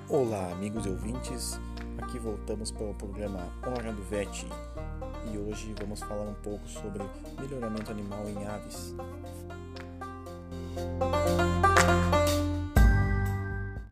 Olá, amigos e ouvintes, aqui voltamos para o programa Hora do VET e hoje vamos falar um pouco sobre melhoramento animal em aves.